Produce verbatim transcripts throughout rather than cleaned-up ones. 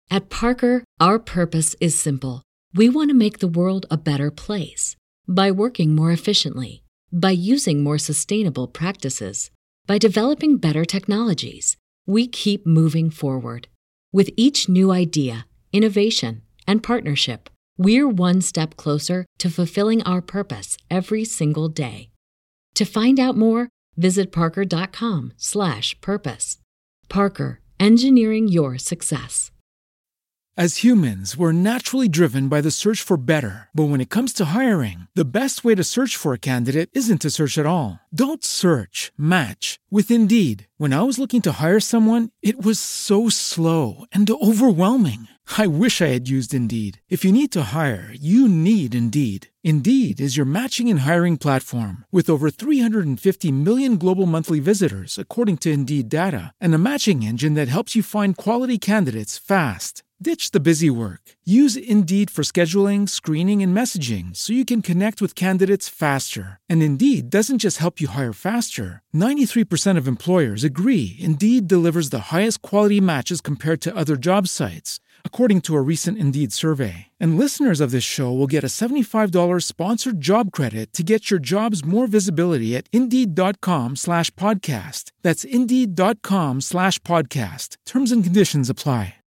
At Parker, our purpose is simple. We want to make the world a better place by working more efficiently, by using more sustainable practices, by developing better technologies. We keep moving forward. With each new idea, innovation, and partnership, we're one step closer to fulfilling our purpose every single day. To find out more, visit parker.com slash purpose. Parker, engineering your success. As humans, we're naturally driven by the search for better. But when it comes to hiring, the best way to search for a candidate isn't to search at all. Don't search, match with Indeed. When I was looking to hire someone, it was so slow and overwhelming. I wish I had used Indeed. If you need to hire, you need Indeed. Indeed is your matching and hiring platform with over three hundred fifty million global monthly visitors, according to Indeed data, and a matching engine that helps you find quality candidates fast. Ditch the busy work. Use Indeed for scheduling, screening, and messaging so you can connect with candidates faster. And Indeed doesn't just help you hire faster. ninety-three percent of employers agree Indeed delivers the highest quality matches compared to other job sites, according to a recent Indeed survey. And listeners of this show will get a seventy-five dollars sponsored job credit to get your jobs more visibility at Indeed.com slash podcast. That's Indeed.com slash podcast. Terms and conditions apply.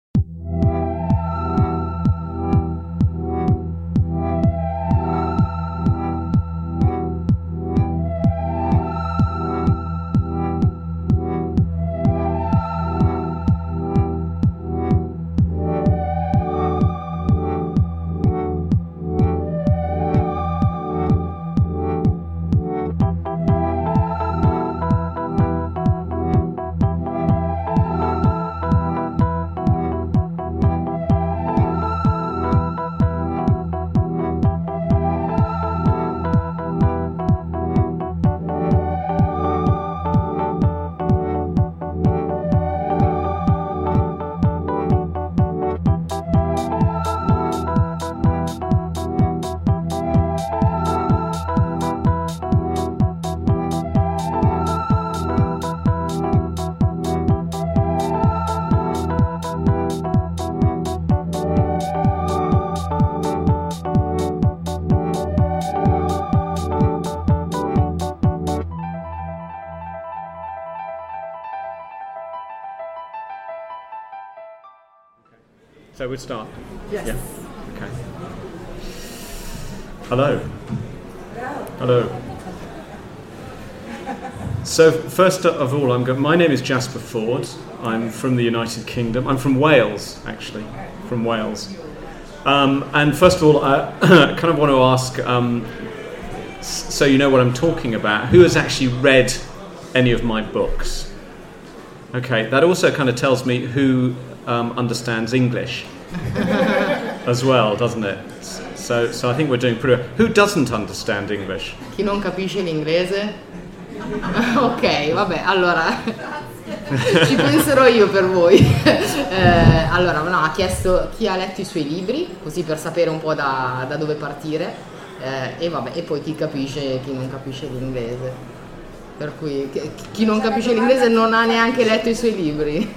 So we'd start? Yes. Yeah. Okay. Hello. Hello. So first of all, I'm go- my name is Jasper Ford. I'm from the United Kingdom. I'm from Wales, actually, from Wales. Um, and first of all, I kind of want to ask, um, so you know what I'm talking about, who has actually read any of my books? Okay, that also kind of tells me who um, understands English as well, doesn't it? So, so I think we're doing pretty well. Who doesn't understand English? Chi non capisce l'inglese? Ok, vabbè, allora ci penserò io per voi. eh, allora, no, ha chiesto chi ha letto i suoi libri, così per sapere un po' da, da dove partire, eh, e vabbè, e poi chi capisce e chi non capisce l'inglese. Per cui chi non capisce l'inglese non ha neanche letto i suoi libri.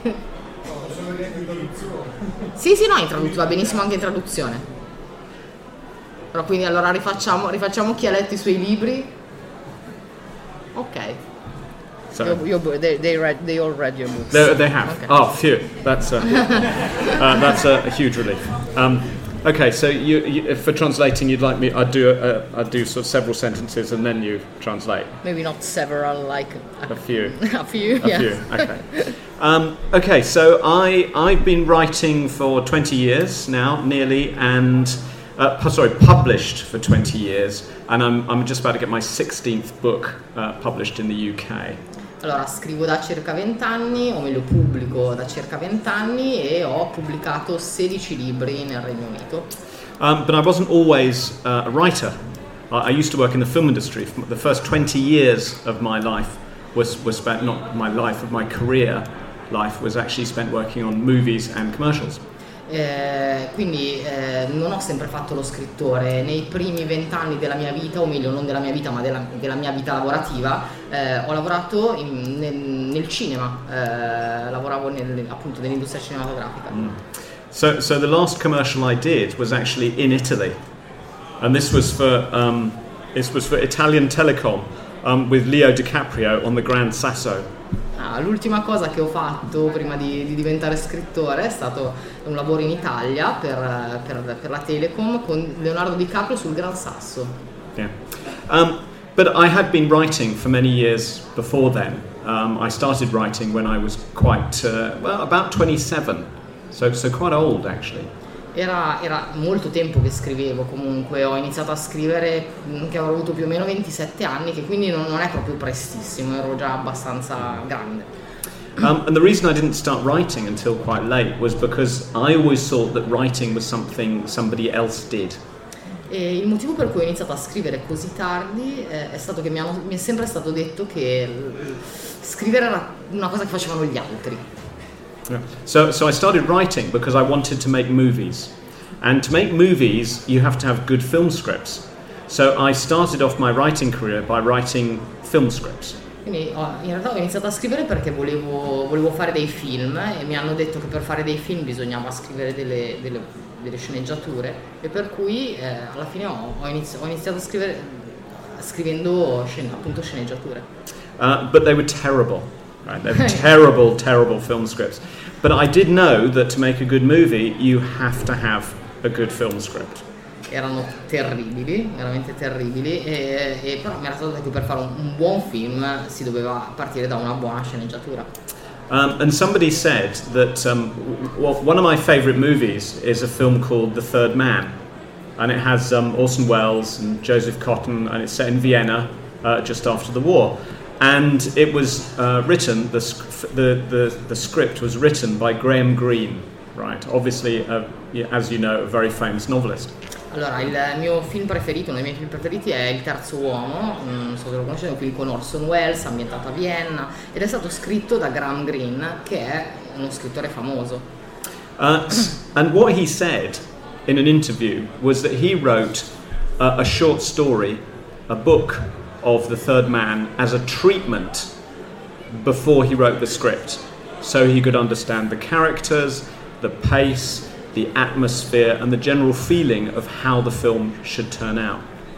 Sì, sì, no, in traduzione, va benissimo anche in traduzione. Però quindi allora rifacciamo, rifacciamo chi ha letto i suoi libri. Ok. So, Your, your, they, they, read, they all read your books. They, they have. Okay. Oh, phew. That's a, uh, that's a, a huge relief. Um, okay, so you, you, for translating, you'd like me? I'd do a, I'd do sort of several sentences and then you translate. Maybe not several, like a, A few. a few. A yes. few. Okay. Um, okay. So I I've been writing for twenty years now, nearly, and uh, sorry, published for twenty years, and I'm I'm just about to get my sixteenth book uh, published in the U K. Allora, scrivo da circa vent'anni, o meglio pubblico da circa vent'anni, e ho pubblicato sedici libri nel Regno Unito. Um, but I wasn't always uh, a writer. I, I used to work in the film industry. The first twenty years of my life was, was spent, not my life, of my career life, was actually spent working on movies and commercials. Eh, quindi eh, non ho sempre fatto lo scrittore. Nei primi vent'anni della mia vita, o meglio non della mia vita ma della, della mia vita lavorativa, eh, ho lavorato in, nel, nel cinema, eh, lavoravo nel, appunto nell'industria cinematografica. Mm. So, so the last commercial I did was actually in Italy, and this was for um, this was for Italian Telecom um, with Leo DiCaprio on the Grand Sasso. Ah, l'ultima cosa che ho fatto prima di, di diventare scrittore è stato un lavoro in Italia per, per, per la Telecom con Leonardo DiCaprio sul Gran Sasso. Yeah, um, but I had been writing for many years before then. Um, I started writing when I was quite uh, well, about twenty-seven, so so quite old actually. Era, era molto tempo che scrivevo, comunque ho iniziato a scrivere che avrò avuto più o meno ventisette anni, che quindi non, non è proprio prestissimo, ero già abbastanza grande. Um, and the reason I didn't start writing until quite late was because I always thought that writing was something somebody else did. E il motivo per cui ho iniziato a scrivere così tardi eh, è stato che mi, hanno, mi è sempre stato detto che scrivere era una cosa che facevano gli altri. Yeah. So, so I started writing because I wanted to make movies, and to make movies you have to have good film scripts. So I started off my writing career by writing film scripts. Quindi oh, in realtà ho iniziato a scrivere perché volevo, volevo fare dei film e mi hanno detto che per fare dei film bisognava scrivere delle, delle, delle sceneggiature, e per cui eh, alla fine ho, ho, inizi- ho iniziato a scrivere scrivendo scen- appunto sceneggiature. Uh, but they were terrible. Right, they're terrible, terrible film scripts. But I did know that to make a good movie, you have to have a good film script. Erano terribili, veramente terribili, e, e però mi era stato detto che per fare un, un buon film si doveva partire da una buona sceneggiatura. Um, and somebody said that um, well, one of my favourite movies is a film called The Third Man, and it has um, Orson Welles and Joseph Cotten, and it's set in Vienna uh, just after the war. And it was uh, written, the, the, the, the script was written by Graham Greene, right? Obviously, uh, as you know, a very famous novelist. Allora, il mio film preferito, uno dei miei film preferiti è Il Terzo Uomo, non so se lo conoscete, è un film con Orson Welles, ambientato a Vienna, ed è stato scritto da Graham Greene, che è uno scrittore famoso. Uh, and what he said in an interview was that he wrote uh, a short story, a book of The Third Man as a treatment before he wrote the script, so he could understand the characters, the pace, the atmosphere and the general feeling of how the film should turn out.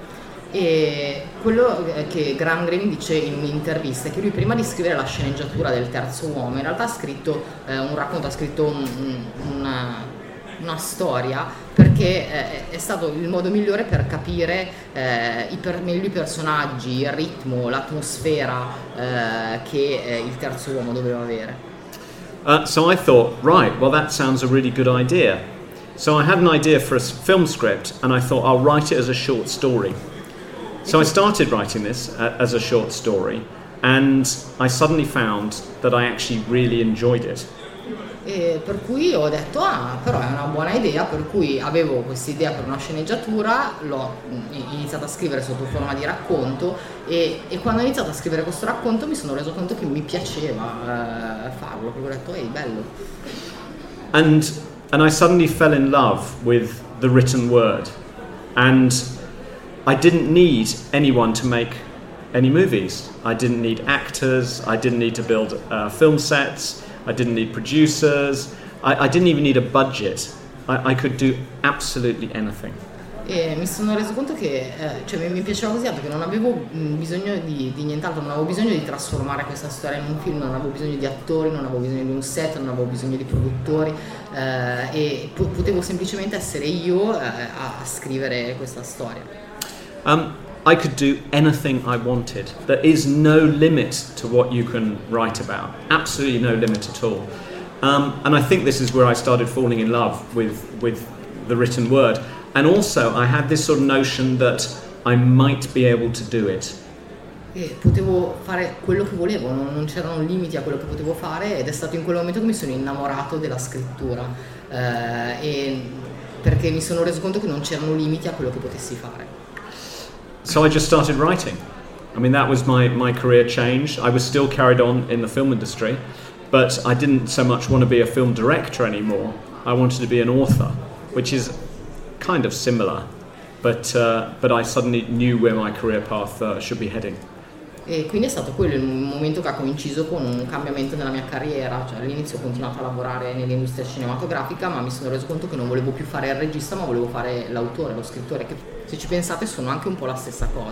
E quello che Graham Greene dice in un'intervista è che lui prima di scrivere la sceneggiatura del Terzo Uomo in realtà ha scritto eh, un racconto, ha scritto un, una, una storia, perché eh, è stato il modo migliore per capire eh, i per, meglio i personaggi, il ritmo, l'atmosfera eh, che eh, il Terzo Uomo doveva avere. Uh, so I thought, right, well that sounds a really good idea. So I had an idea for a film script and I thought I'll write it as a short story. So I started writing this uh, as a short story and I suddenly found that I actually really enjoyed it. E per cui ho detto, ah, però è una buona idea, per cui avevo questa idea per una sceneggiatura, l'ho iniziato a scrivere sotto forma di racconto e, e quando ho iniziato a scrivere questo racconto mi sono reso conto che mi piaceva eh, farlo, perché ho detto, ehi, bello. And, and I suddenly fell in love with the written word, and I didn't need anyone to make any movies. I didn't need actors, I didn't need to build uh, film sets, I didn't need producers, I, I didn't even need a budget. I, I could do absolutely anything. E mi sono reso conto che eh, cioè, mi, mi piaceva così tanto che non avevo mh, bisogno di, di nient'altro, non avevo bisogno di trasformare questa storia in un film, non avevo bisogno di attori, non avevo bisogno di un set, non avevo bisogno di produttori eh, e po- potevo semplicemente essere io eh, a, a scrivere questa storia. Um, I could do anything I wanted. There is no limit to what you can write about. Absolutely no limit at all. Um, and I think this is where I started falling in love with, with the written word. And also I had this sort of notion that I might be able to do it. E potevo fare quello che volevo, non, non c'erano limiti a quello che potevo fare ed è stato in quel momento che mi sono innamorato della scrittura eh, e perché mi sono reso conto che non c'erano limiti a quello che potessi fare. So I just started writing. I mean, that was my, my career change. I was still carried on in the film industry, but I didn't so much want to be a film director anymore. I wanted to be an author, which is kind of similar, but uh, but I suddenly knew where my career path uh, should be heading. E quindi è stato quello il momento che ha coinciso con un cambiamento nella mia carriera, cioè all'inizio ho continuato a lavorare nell'industria cinematografica, ma mi sono reso conto che non volevo più fare il regista, ma volevo fare l'autore, lo scrittore, che se ci pensate sono anche un po' la stessa cosa.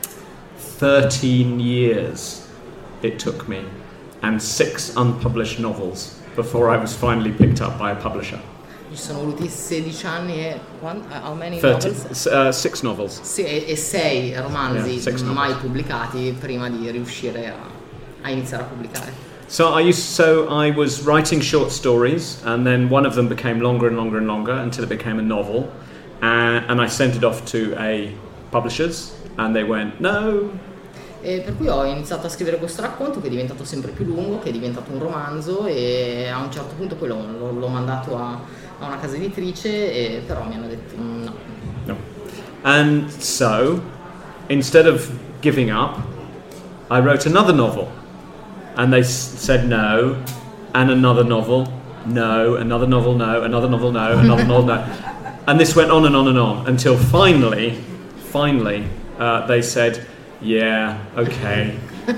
thirteen years it took me, and six unpublished novels before I was finally picked up by a publisher. Ci sono voluti sedici anni e one, how many thirty, novels? Uh, six novels. Sì, e, e sei romanzi Yeah, mai pubblicati prima di riuscire a, a iniziare a pubblicare. So I used so I was writing short stories, and then one of them became longer and longer and longer until it became a novel, and, and I sent it off to a publishers, and they went no. E per cui ho iniziato a scrivere questo racconto che è diventato sempre più lungo, che è diventato un romanzo, e a un certo punto poi l'ho, l'ho, l'ho mandato a a una casa editrice, e però mi hanno detto no. No. And so, instead of giving up, I wrote another novel. And they s- said no, and another novel, no, another novel, no, another novel, no, another novel, no. And this went on and on and on until finally, finally, uh, they said, yeah, okay.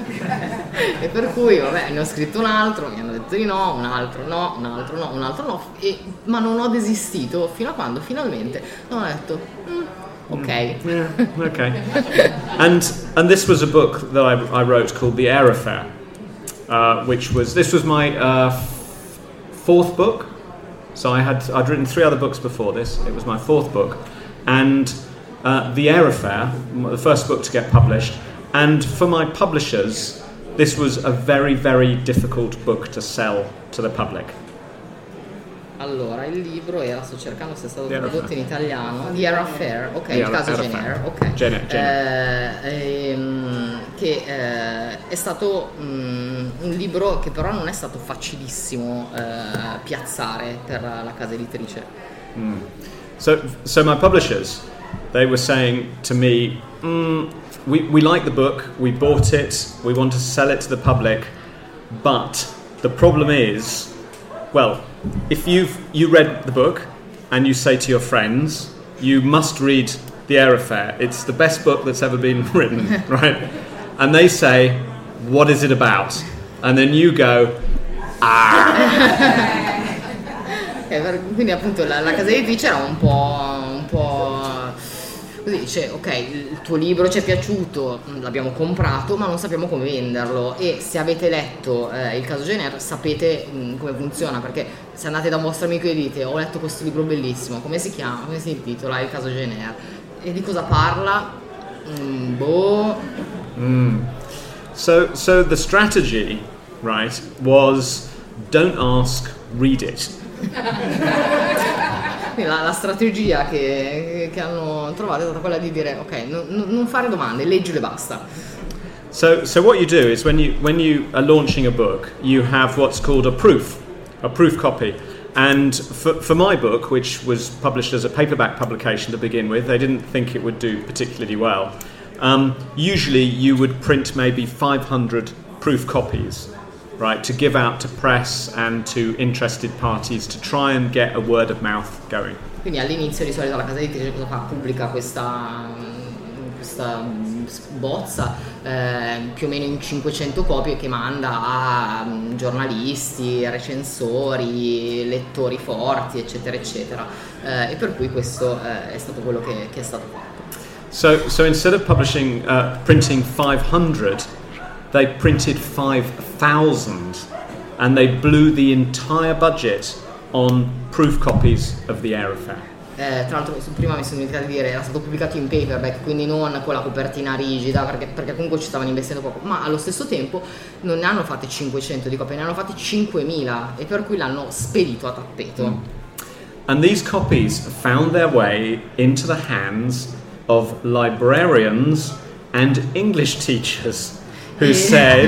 E per cui vabbè, ne ho scritto un altro, mi hanno detto di no, un altro no, un altro no, un altro no, e, ma non ho desistito fino a quando finalmente ho detto mm, ok. Yeah, okay. and and this was a book that I, I wrote called The Air Affair, uh, which was this was my uh, f- fourth book. So I had I'd written three other books before this. It was my fourth book, and uh, The Air Affair, the first book to get published. And for my publishers, this was a very, very difficult book to sell to the public. Allora, il libro era, sto cercando se è stato The tradotto in italiano, The Air Affair, ok, The il Air- caso Air Jane Affair. Eyre, ok. Jane- Jane Eh, ehm, che eh, è stato mm, un libro che però non è stato facilissimo eh, piazzare per la casa editrice. Mm. So, so my publishers, they were saying to me, mm, we, we like the book, we bought it, we want to sell it to the public, but the problem is, well, if you've you read the book and you say to your friends, you must read The Air Affair, it's the best book that's ever been written, right? And they say, what is it about? And then you go, ah. Quindi appunto la, la casa editrice era un po', un po' così, dice ok, il tuo libro ci è piaciuto, l'abbiamo comprato, ma non sappiamo come venderlo, e se avete letto eh, il caso Jane Eyre sapete mh, come funziona, perché se andate da un vostro amico e dite ho letto questo libro bellissimo, come si chiama, come si intitola, il caso Jane Eyre, e di cosa parla? Mm, boh. Mm. So, so the strategy, right, was don't ask, read it. La, la strategia che, che hanno trovato è stata quella di dire ok, non, non fare domande, leggilo e basta. So, so what you do is when you when you are launching a book, you have what's called a proof, a proof copy. And for, for my book, which was published as a paperback publication to begin with, they didn't think it would do particularly well. Um, usually you would print maybe five hundred proof copies, right, to give out to press and to interested parties to try and get a word of mouth going. Quindi all'inizio di solito la casa editrice cosa fa? Pubblica questa, questa bozza eh, più o meno in cinquecento copie che manda a giornalisti, recensori, lettori forti, eccetera eccetera, eh, e per cui questo eh, è stato quello che, che è stato fatto. So, so instead of publishing, uh, printing five hundred, they printed five thousand, and they blew the entire budget on proof copies of The Air Affair. Eh, tra l'altro prima mi sono dimenticato di dire, era stato pubblicato in paperback, quindi non con la copertina rigida, perché, perché comunque ci stavano investendo poco, ma allo stesso tempo non ne hanno fatte cinquecento di copie, ne hanno fatte cinquemila, e per cui l'hanno spedito a tappeto. Mm. And these copies found their way into the hands of librarians and English teachers who e... said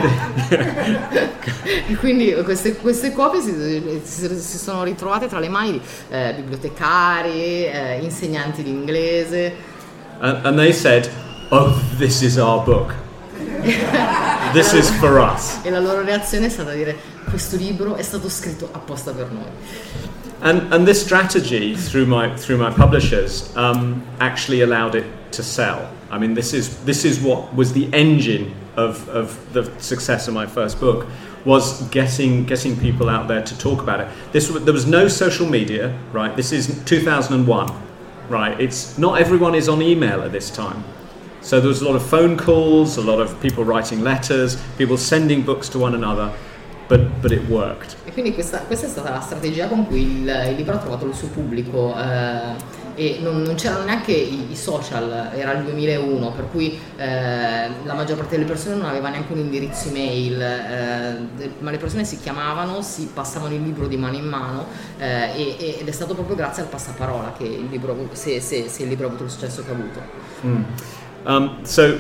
e quindi queste, queste copie si, si, si sono ritrovate tra le mani di eh, bibliotecari, eh, insegnanti di inglese, and, and they said, oh, this is our book, this is for us. E la loro reazione è stata dire questo libro è stato scritto apposta per noi. And and this strategy through my through my publishers um, actually allowed it to sell. I mean, this is this is what was the engine of, of the success of my first book was getting getting people out there to talk about it. This there was no social media, right? This is two thousand one, right? It's not everyone is on email at this time. So there was a lot of phone calls, a lot of people writing letters, people sending books to one another, but, but it worked. E quindi questa, questa è stata la strategia con cui il, il libro ha trovato il suo pubblico, eh, e non, non c'erano neanche i, i social, era il duemilauno, per cui eh, la maggior parte delle persone non aveva neanche un indirizzo email, eh, ma le persone si chiamavano, si passavano il libro di mano in mano, eh, e, ed è stato proprio grazie al passaparola che il libro, se, se, se il libro ha avuto il successo che ha avuto. Mm. Um, so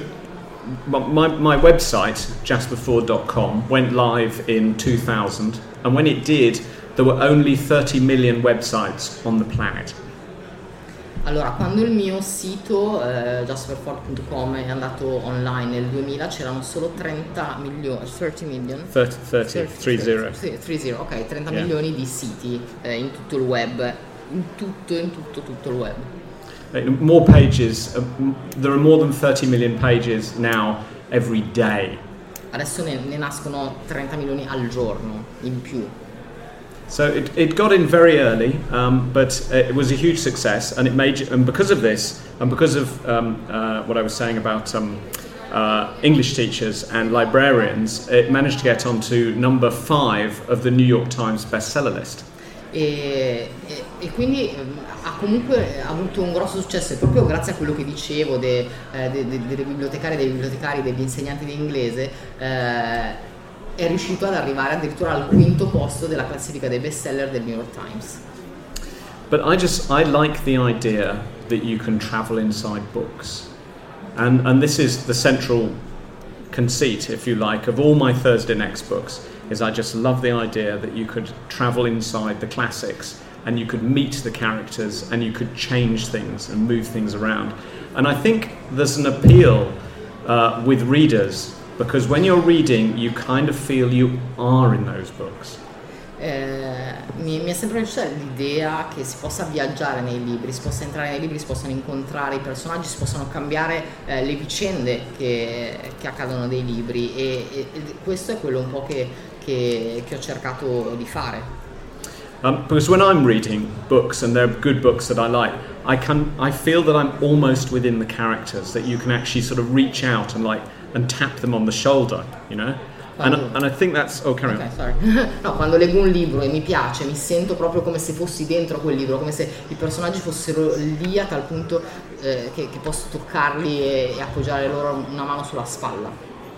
my, my website, jasper ford dot com, went live in two thousand, and when it did, there were only thirty million websites on the planet. Allora, quando il mio sito eh, jasper ford punto com è andato online nel duemila, c'erano solo trenta milioni, thirty million? thirty, thirty, thirty. Sì, trenta, ok, trenta Yeah. milioni di siti eh, in tutto il web, in tutto, in tutto, tutto il web. More pages, uh, there are more than thirty million pages now every day. Adesso ne, ne nascono trenta milioni al giorno in più. So it, it got in very early, um, but it was a huge success, and it made, and because of this, and because of um, uh, what I was saying about um, uh, English teachers and librarians, it managed to get onto number five of the New York Times bestseller list. E, e, e quindi ha comunque avuto un grosso successo, e proprio grazie a quello che dicevo de, eh, de, de, delle bibliotecarie, dei bibliotecari, degli insegnanti di inglese, eh, è riuscito ad arrivare addirittura al quinto posto della classifica dei bestseller del New York Times. But I just, I like the idea that you can travel inside books, and and this is the central conceit, if you like, of all my Thursday Next books, is I just love the idea that you could travel inside the classics and you could meet the characters and you could change things and move things around. And I think there's an appeal uh, with readers, because when you're reading you kind of feel you are in those books. Eh, mi, mi è sempre piaciuta l'idea che si possa viaggiare nei libri, si possa entrare nei libri, si possano incontrare i personaggi, si possano cambiare eh, le vicende che, che accadono dei libri, e, e, e questo è quello un po' che, che, che ho cercato di fare. Um, because when I'm reading books, and they're good books that I like, I can I feel that I'm almost within the characters, that you can actually sort of reach out and like and tap them on the shoulder, you know. And, and I think that's oh carry okay, on. sorry. No, quando leggo un libro e mi piace, mi sento proprio come se fossi dentro quel libro, come se i personaggi fossero lì a tal punto eh, che, che posso toccarli e, e appoggiare loro una mano sulla spalla.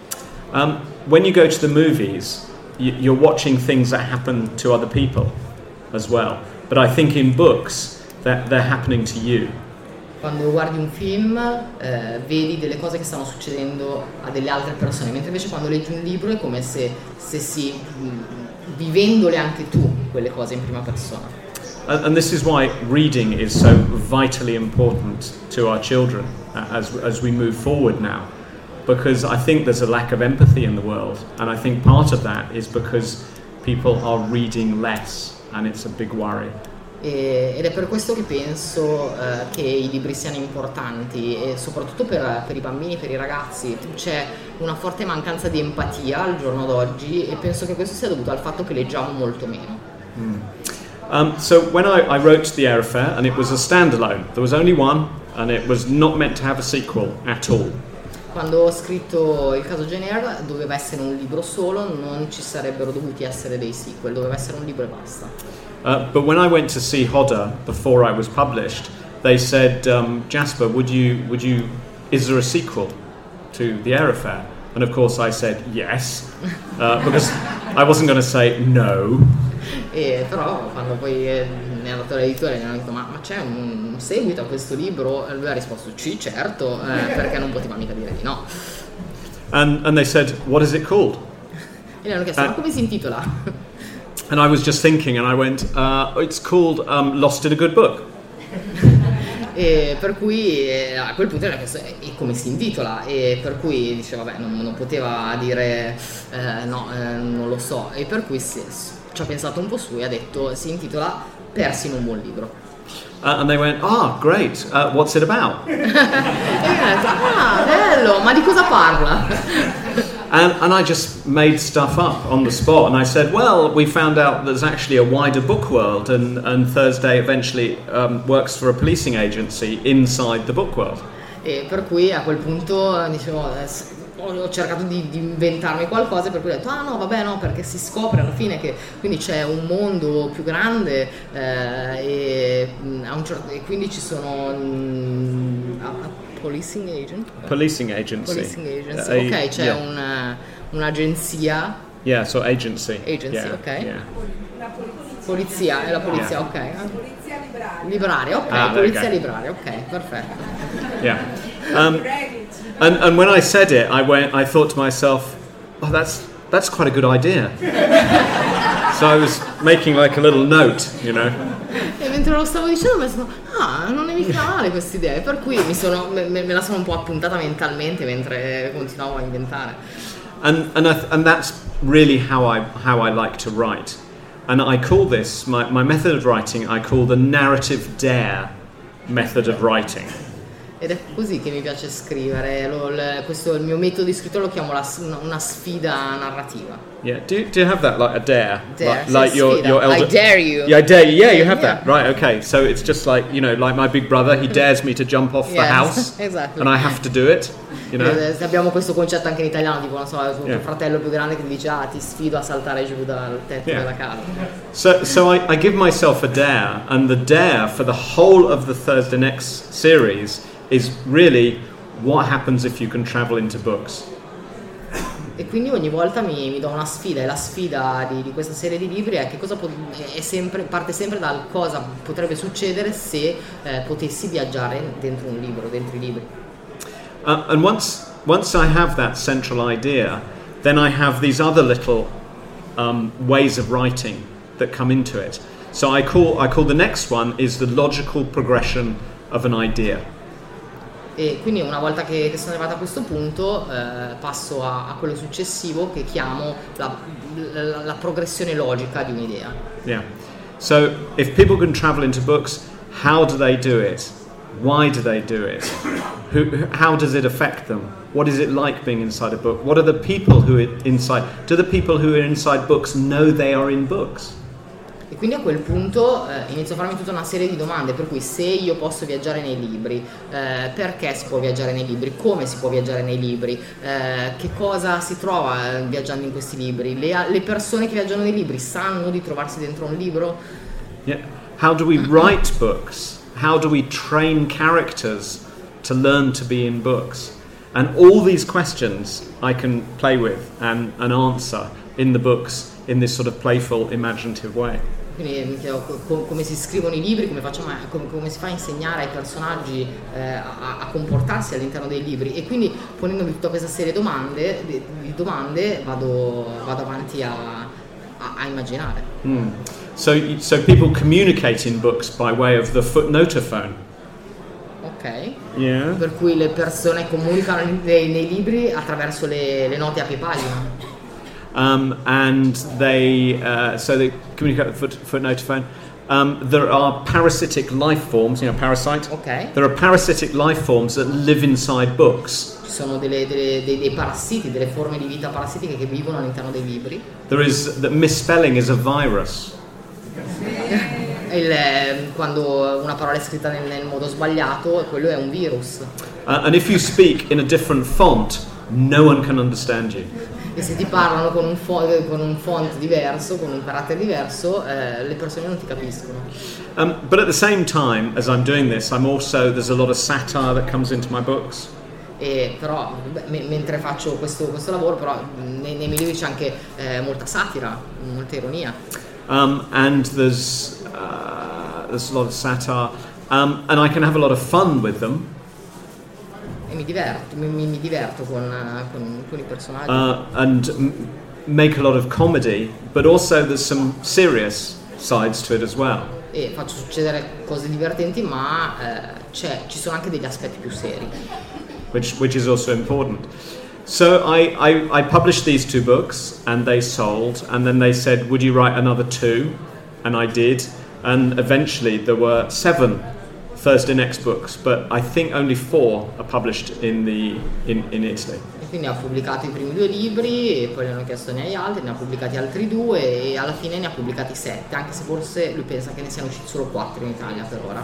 Um, when you go to the movies, you, you're watching things that happen to other people as well. But I think in books that they're happening to you. Quando guardi un film eh, vedi delle cose che stanno succedendo a delle altre persone, mentre invece quando leggi un libro è come se stessi mh, vivendole anche tu quelle cose in prima persona. And, and this is why reading is so vitally important to our children uh, as as we move forward now, because I think there's a lack of empathy in the world, and I think part of that is because people are reading less, and it's a big worry. E, ed è per questo che penso eh, che i libri siano importanti, e soprattutto per, per i bambini, per i ragazzi. C'è una forte mancanza di empatia al giorno d'oggi, e penso che questo sia dovuto al fatto che leggiamo molto meno. Mm. Um, so when I, I wrote The Aerofair, and it was a standalone, there was only one, and it was not meant to have a sequel at all. Quando ho scritto Il caso Jane Eyre doveva essere un libro solo, non ci sarebbero dovuti essere dei sequel, doveva essere un libro e basta. Uh, but when I went to see Hodder before I was published, they said, um, Jasper, would you, would you, is there a sequel to The Aerofair? And of course I said yes, uh, because I wasn't going to say no. E però quando poi è andato all'editore e gli hanno detto ma, ma c'è un, un seguito a questo libro? E lui ha risposto sì, certo, eh, perché non poteva mica dire di no. And, and they said, what is it called? E gli hanno chiesto, uh, ma come si intitola? And I was just thinking, and I went, uh, it's called um, Lost in a Good Book. E per cui eh, a quel punto era chiesto, e come si intitola? E per cui diceva, vabbè, non, non poteva dire eh, no, eh, non lo so. E per cui si, ci ha pensato un po' su e ha detto, si intitola Persi in un buon libro. Uh, and they went, ah, great, uh, what's it about? E io ho detto, ah, bello, ma di cosa parla? And, and I just made stuff up on the spot, and I said, well, we found out there's actually a wider book world, and, and Thursday eventually um, works for a policing agency inside the book world. E per cui a quel punto dicevo, ho cercato di, di inventarmi qualcosa, per cui ho detto ah no vabbè no, perché si scopre alla fine che quindi c'è un mondo più grande eh, e, a un certo, e quindi ci sono mm, a, a policing agent policing agency policing agency uh, ok c'è yeah. una, un'agenzia yeah so agency agency yeah, ok yeah. Polizia, è la polizia, yeah. ok. Polizia libraria. Libraria, ok, Ah, polizia okay. libraria, ok, perfetto. Yeah. Um, and and when I said it, I went. I thought to myself, "Oh, that's that's quite a good idea." So I was making like a little note, you know. E mentre lo stavo dicendo mi sono, ah, non è mica male questa idea, per cui mi sono, me, me la sono un po' appuntata mentalmente mentre continuavo a inventare. And and I th- and that's really how I how I like to write. And I call this, my, my method of writing, I call the narrative dare method of writing. Ed è così che mi piace scrivere, lo, il, questo il mio metodo di scrittura lo chiamo la, una, una sfida narrativa. Yeah, do you, do you have that, like a dare? Dare, Like, like your, your elder... I dare you. Yeah, I dare you, yeah, you have Yeah. that. Right, okay, so it's just like, you know, like my big brother, he dares me to jump off the Yes, house. exactly. And I have to do it, you know. Eh, abbiamo questo concetto anche in italiano, tipo, non so, tuo Yeah. fratello più grande che ti dice, ah, ti sfido a saltare giù dal tetto Yeah. della casa. So, so I, I give myself a dare, and the dare for the whole of the Thursday Next series is really what happens if you can travel into books. E quindi ogni volta mi, mi do una sfida, e la sfida di, di questa serie di libri è che cosa po- è sempre, parte sempre dal cosa potrebbe succedere se eh, potessi viaggiare dentro un libro, dentro i libri. Uh, and once once I have that central idea, then I have these other little um, ways of writing that come into it. So I call I call the next one is the logical progression of an idea. E quindi una volta che, che sono arrivata a questo punto eh, passo a, a quello successivo che chiamo la, la, la progressione logica di un'idea. Yeah. So if people can travel into books, how do they do it? Why do they do it? Who, how does it affect them? What is it like being inside a book? What are the people who are inside? Do the people who are inside books know they are in books? E quindi a quel punto eh, inizio a farmi tutta una serie di domande, per cui se io posso viaggiare nei libri, eh, perché si può viaggiare nei libri, come si può viaggiare nei libri, eh, che cosa si trova eh, viaggiando in questi libri, le, le persone che viaggiano nei libri sanno di trovarsi dentro un libro? Yeah. How do we write books? How do we train characters to learn to be in books? And all these questions I can play with and, and answer in the books in this sort of playful, imaginative way. Quindi mi chiedo co- come si scrivono i libri, come, facciamo, come, come si fa a insegnare ai personaggi eh, a, a comportarsi all'interno dei libri, e quindi ponendomi tutta questa serie di domande, di, di domande vado, vado avanti a, a, a immaginare. Mm. So, so people communicate in books by way of the footnotophone. Ok? Yeah. Per cui le persone comunicano nei, nei libri attraverso le, le note a pie pagina. Um, and they uh, so they communicate with foot, footnotophone. Um, there are parasitic life forms, you know, parasite. Ok. There are parasitic life forms that live inside books. Ci sono delle, delle, dei, dei parassiti, delle forme di vita parassitiche che vivono all'interno dei libri. There is that misspelling is a virus. Il, eh, quando una parola è scritta nel, nel modo sbagliato, quello è un virus. Uh, and if you speak in a different font, no one can understand you. E se ti parlano con un, fo- con un font diverso, con un carattere diverso, eh, le persone non ti capiscono. Um, but at the same time, as I'm doing this, I'm also there's a lot of satire that comes into my books. E però beh, me- mentre faccio questo, questo lavoro, però nei, nei miei libri c'è anche eh, molta satira, molta ironia. Um, and there's uh, there's a lot of satire, um, and I can have a lot of fun with them. E mi diverto, mi, mi, mi diverto con, con, con i personaggi. Uh, and m- make a lot of comedy, but also there's some serious sides to it as well. E faccio succedere cose divertenti, ma eh, c'è, ci sono anche degli aspetti più seri. Which which is also important. So I, I, I published these two books, and they sold, and then they said, would you write another two? And I did, and eventually there were seven Thursday Next books, but I think only four are published in the in, in Italy. E quindi ha pubblicato i primi due libri e poi gli hanno chiesto ne hai altri, ne ha pubblicati altri due e alla fine ne ha pubblicati sette, anche se forse lui pensa che ne siano usciti solo quattro in Italia per ora.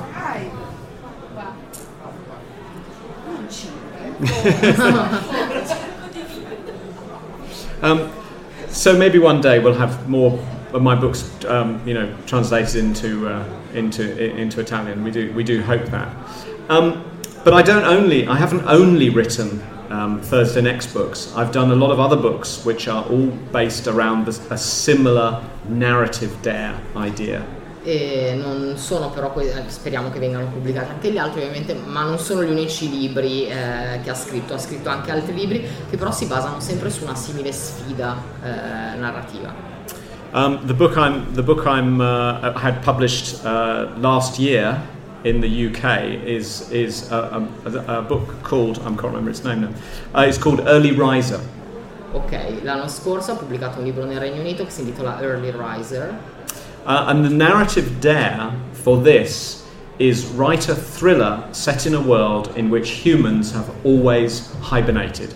um, so maybe one day we'll have more of my books, um, you know, translated into uh, into into Italian. We do we do hope that. Um, but I don't only I haven't only written um, Thursday Next books. I've done a lot of other books which are all based around this, a similar narrative dare idea. E non sono però, speriamo che vengano pubblicati anche gli altri ovviamente, ma non sono gli unici libri eh, che ha scritto, ha scritto anche altri libri che però si basano sempre su una simile sfida eh, narrativa. Um, the book I'm the book I'm uh, had published uh, last year in the U K is is a, a, a book called, I can't remember its name now. Uh, it's called Early Riser. Ok, l'anno scorso ha pubblicato un libro nel Regno Unito che si intitola Early Riser. Uh, and the narrative dare for this is write a thriller set in a world in which humans have always hibernated.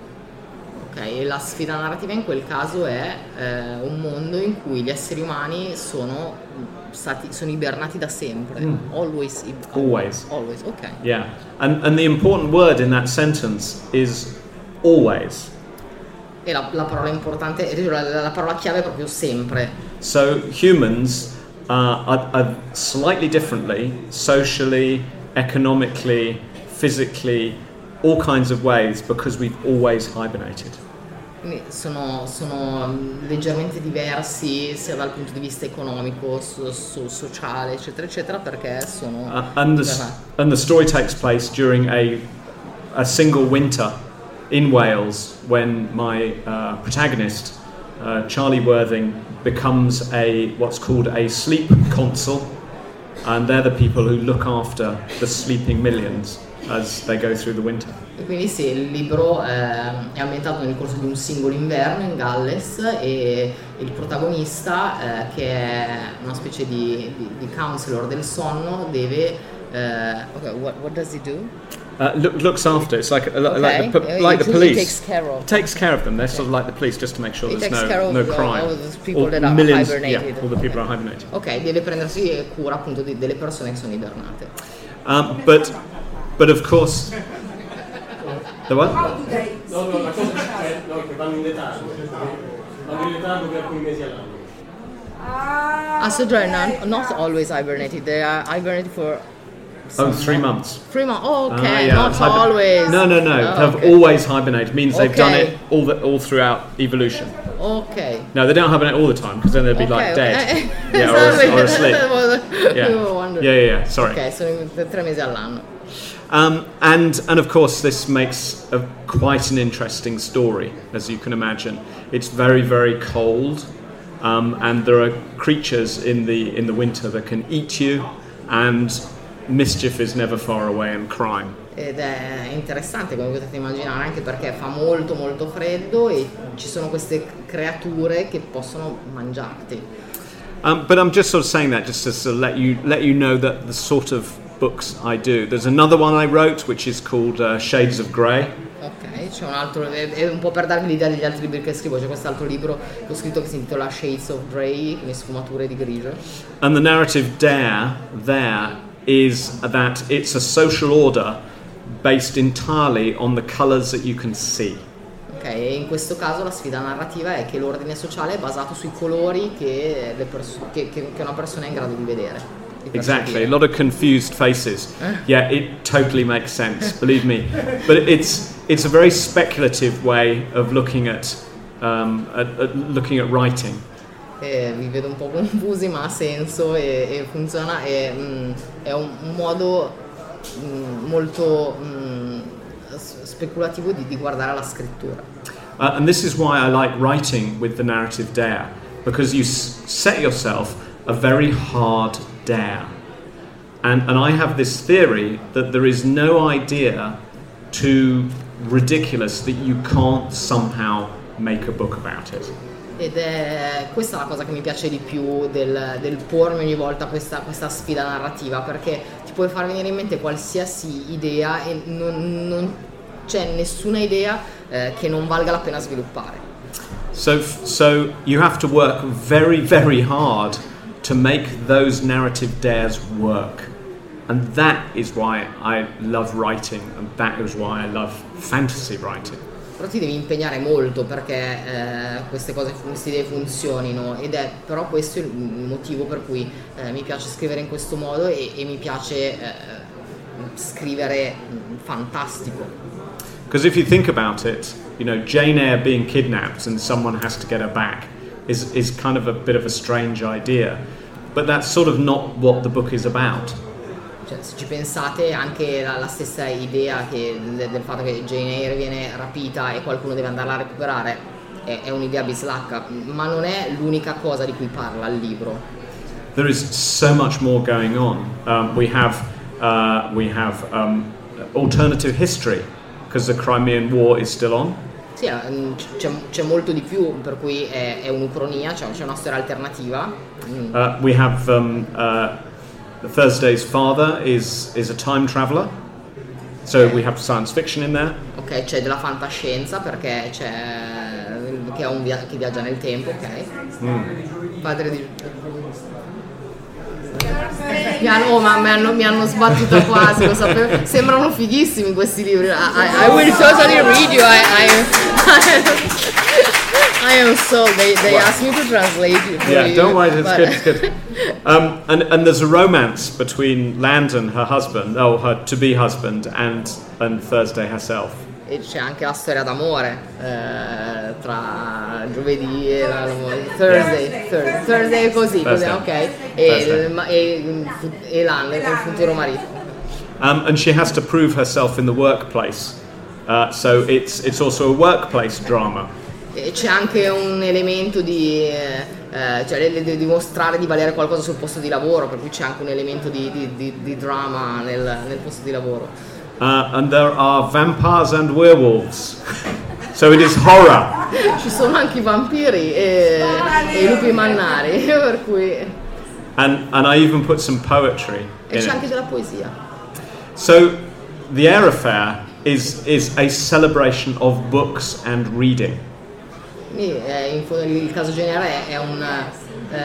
Ok, e la sfida narrativa in quel caso è eh, un mondo in cui gli esseri umani sono stati sono ibernati da sempre. Mm. Always. Always. Always. Ok. Yeah, and and the important word in that sentence is always. E la, la parola importante, la, la parola chiave è proprio sempre. So humans uh, are, are slightly differently, socially, economically, physically, all kinds of ways because we've always hibernated. Quindi sono, sono leggermente diversi sia dal punto di vista economico, so, so, sociale, eccetera, eccetera, perché sono... Uh, and, the, and the story takes place during a, a single winter in Wales when my uh, protagonist, uh, Charlie Worthing, becomes a what's called a sleep consul, and they're the people who look after the sleeping millions as they go through the winter. E quindi sì, il libro eh, è ambientato nel corso di un singolo inverno in Galles e il protagonista, eh, che è una specie di, di, di counselor del sonno, deve... Uh, okay, what, what does he do? Uh, look, looks after. It's like okay. like the, like the police. He takes care of. Takes care of them. They're okay. sort of like the police, just to make sure he there's takes no care of no the, crime. All the people all that are millions, hibernated. Yeah, all the people okay. are hibernating. Ok, deve prendersi cura appunto di, delle persone che sono ibernate. Um, but but of course, the what? No, no, la cosa è no, che vanno in letargo. Vanno in letargo per alcuni mesi all'anno. Ah, so they're not, not always hibernated. They are hibernated for. Oh, three months. Three months. Oh, okay, uh, yeah. not Hiber- always. No, no, no. Oh, have okay. always hibernated means they've okay. done it all the, all throughout evolution. Okay. No, they don't hibernate all the time because then they'd be okay. like dead. Okay. Yeah, or, or asleep. Yeah. Yeah. yeah, yeah, yeah. Sorry. Okay, sono tre mesi all'anno. Um, and and of course this makes a, quite an interesting story, as you can imagine. It's very very cold, um, and there are creatures in the in the winter that can eat you, and mischief is never far away and crime. Ed è interessante, come potete immaginare, anche perché fa molto molto freddo e ci sono queste creature che possono mangiarti. Um, but I'm just sort of saying that just to sort of let you let you know that the sort of books I do. There's another one I wrote which is called uh, Shades of Grey. Ok, c'è un altro, è un po' per darvi l'idea degli altri libri che scrivo, c'è quest'altro libro che ho scritto che si intitola Shades of Grey, quindi sfumature di grigio. And the narrative dare there is that it's a social order based entirely on the colours that you can see. Ok, e in questo caso la sfida narrativa è che l'ordine sociale è basato sui colori che, le perso- che, che, che una persona è in grado di vedere. Exactly, a lot of confused faces. Yeah, it totally makes sense, believe me. But it's it's a very speculative way of looking at, um, at, at looking at writing. Eh, vi vedo un po' confusi, ma ha senso e, e funziona. E, mm, è un, un modo mm, molto mm, speculativo di, di guardare la scrittura. Uh, and this is why I like writing with the narrative dare, because you s- set yourself a very hard dare. And, and I have this theory that there is no idea too ridiculous that you can't somehow make a book about it. Ed è questa la cosa che mi piace di più del, del pormi ogni volta questa, questa sfida narrativa, perché ti puoi far venire in mente qualsiasi idea e non, non, c'è nessuna idea eh, che non valga la pena sviluppare. So, so you have to work very, very hard to make those narrative dares work. And that is why I love writing, and that is why I love fantasy writing. Però ti devi impegnare molto perché eh, queste cose, queste idee funzionino, ed è però questo il motivo per cui eh, mi piace scrivere in questo modo e, e mi piace eh, scrivere fantastico. Because if you think about it, you know, Jane Eyre being kidnapped and someone has to get her back is is kind of a bit of a strange idea, but that's sort of not what the book is about. Cioè, se ci pensate, anche la, la stessa idea che, del, del fatto che Jane Eyre viene rapita e qualcuno deve andarla a recuperare è, è un'idea bislacca, ma non è l'unica cosa di cui parla il libro. There is so much more going on. Um, we have uh, we have um, alternative history because the Crimean War is still on. Sì, c'è, c'è molto di più, per cui è, è un'ucronia, cioè c'è una storia alternativa. Mm. Uh, we have um, uh, Thursday's father is is a time traveler, so we have science fiction in there. Ok, c'è della fantascienza perché c'è che, è un via- che viaggia nel tempo, ok? Mm. Padre di mi hanno, oh, ma mi hanno, mi hanno sbattuto quasi, lo sapevo. Sembrano fighissimi questi libri. I, I, I will totally read you. I, I, I am so. They, they asked me to translate it for Yeah, you, don't worry, it's but- good, it's good. Um, and and there's a romance between Landon, her husband, oh, her to-be husband, and and Thursday herself. E c'è anche la storia d'amore eh, tra giovedì e la, la Thursday, Thursday, Thursday è così, così, Thursday. ok, Thursday. e, ma- e, e Landon, il futuro marito. Um, and she has to prove herself in the workplace. Uh, so it's it's also a workplace drama. E c'è anche un elemento di eh, cioè di dimostrare di valere qualcosa sul posto di lavoro, per cui c'è anche un elemento di, di, di, di dramma nel, nel posto di lavoro. Uh, and there are vampires and werewolves. So it is horror. Ci sono anche i vampiri e, e i lupi mannari, per cui And and I even put some poetry e in c'è it. anche della poesia. So the Eyre Affair is is a celebration of books and reading. Quindi eh, in fondo il caso Genere è, è un eh,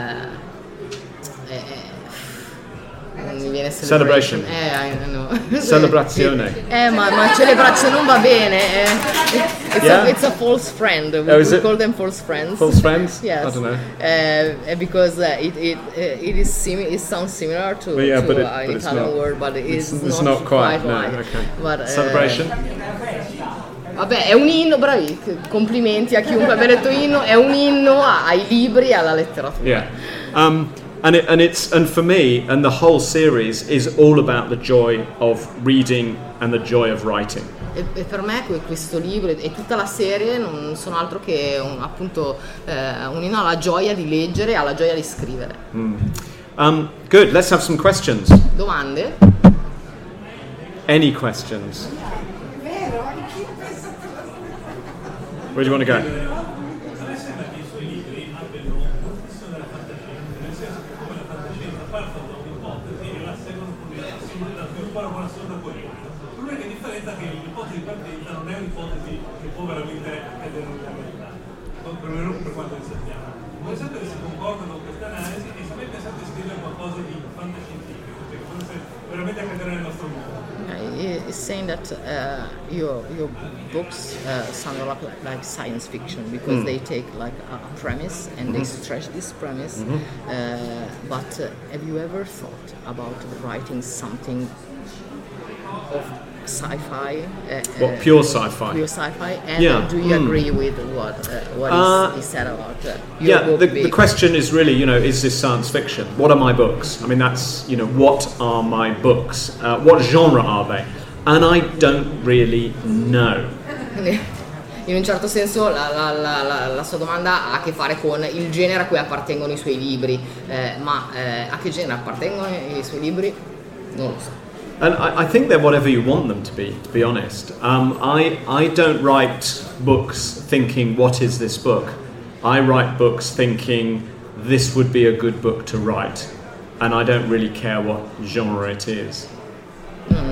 è, è, non mi viene celebration. Celebration. Eh, I know. Celebrazione. Eh, ma, ma celebrazione non va bene. Eh. It's, Yeah? a, it's a false friend. We, Oh, is we it? call them false friends. False friends? Yes. I don't know. Uh, because uh, it it uh, it is simi- it sounds similar to, But yeah, to but it- uh, an but it's Italian not. word, but it is It's, it's not, not quite. No, right. okay. But, uh, Celebration. Vabbè, è un inno, bravi, complimenti a chiunque abbia letto inno, è un inno ai libri e alla letteratura. Yeah. Um, and it, and it's and for me and the whole series is all about the joy of reading and the joy of writing. E, e per me que- questo libro e tutta la serie non sono altro che un, appunto eh, un inno alla gioia di leggere e alla gioia di scrivere. Um, good. Let's have some questions. Domande? Any questions? Where do you want to go? L'unica differenza è che l'ipotesi di partenza non è un'ipotesi che può veramente accadere nella realtà, perlomeno per quanto ne sappiamo. Voi sapete se concorda con questa analisi e se mai pensate di scrivere qualcosa di fantascientifico, che potesse veramente accadere nel nostro mondo. Uh, It's saying that uh, your your books uh, sound a lot like science fiction because they take like a a premise and they stretch this premise. Uh, but uh, have you ever thought about writing something of sci-fi? Uh, What, uh, pure sci-fi? Pure sci-fi. And Yeah. do you Mm. agree with what uh, what Uh, is, is said about uh, your Yeah, book? the, being- the question is really, you know, is this science fiction? What are my books? I mean, that's, you know, what are my books? Uh, what genre are they? And I don't really know. In un certo senso la, la- la- la- la sua domanda ha a che fare con il genere a cui appartengono i suoi libri, eh, ma eh, a che genere appartengono i suoi libri? Non lo so. And I, I think they're whatever you want them to be, to be honest. Um, I, I don't write books thinking, what is this book? I write books thinking, this would be a good book to write. And I don't really care what genre it is. Non,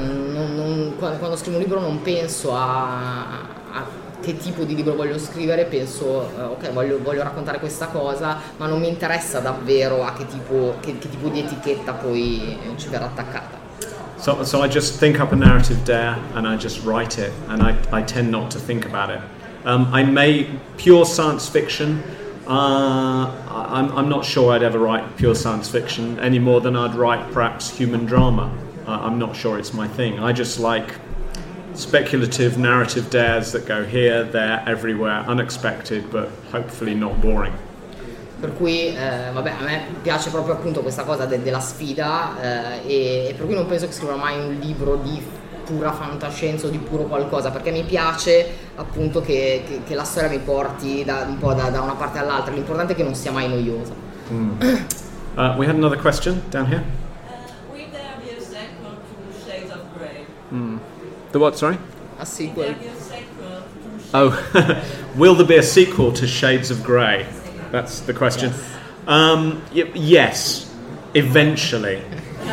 non, non, quando, quando scrivo un libro non penso a, a che tipo di libro voglio scrivere, penso eh, ok, voglio, voglio raccontare questa cosa, ma non mi interessa davvero a che tipo, che, che tipo di etichetta poi ci verrà attaccata. So, so I just think up a narrative dare and I just write it, and I, I tend not to think about it. Um, I may pure science fiction. Uh, I'm, I'm not sure I'd ever write pure science fiction any more than I'd write perhaps human drama. Uh, I'm not sure it's my thing. I just like speculative narrative dares that go here, there, everywhere, unexpected, but hopefully not boring. Per cui eh, vabbè, a me piace proprio appunto questa cosa de- della sfida eh, e, e per cui non penso che scriverò mai un libro di pura fantascienza o di puro qualcosa, perché mi piace appunto che, che, che la storia mi porti da, un po' da, da una parte all'altra. L'importante è che non sia mai noiosa. Mm. Uh, we had another question down here. Uh, will there be a sequel to Shades of Grey? Mm. The what, sorry? A sequel. Will there be a sequel to Shades Oh, will there be a sequel to Shades of Grey? That's the question. Yes. Um, y- yes, eventually.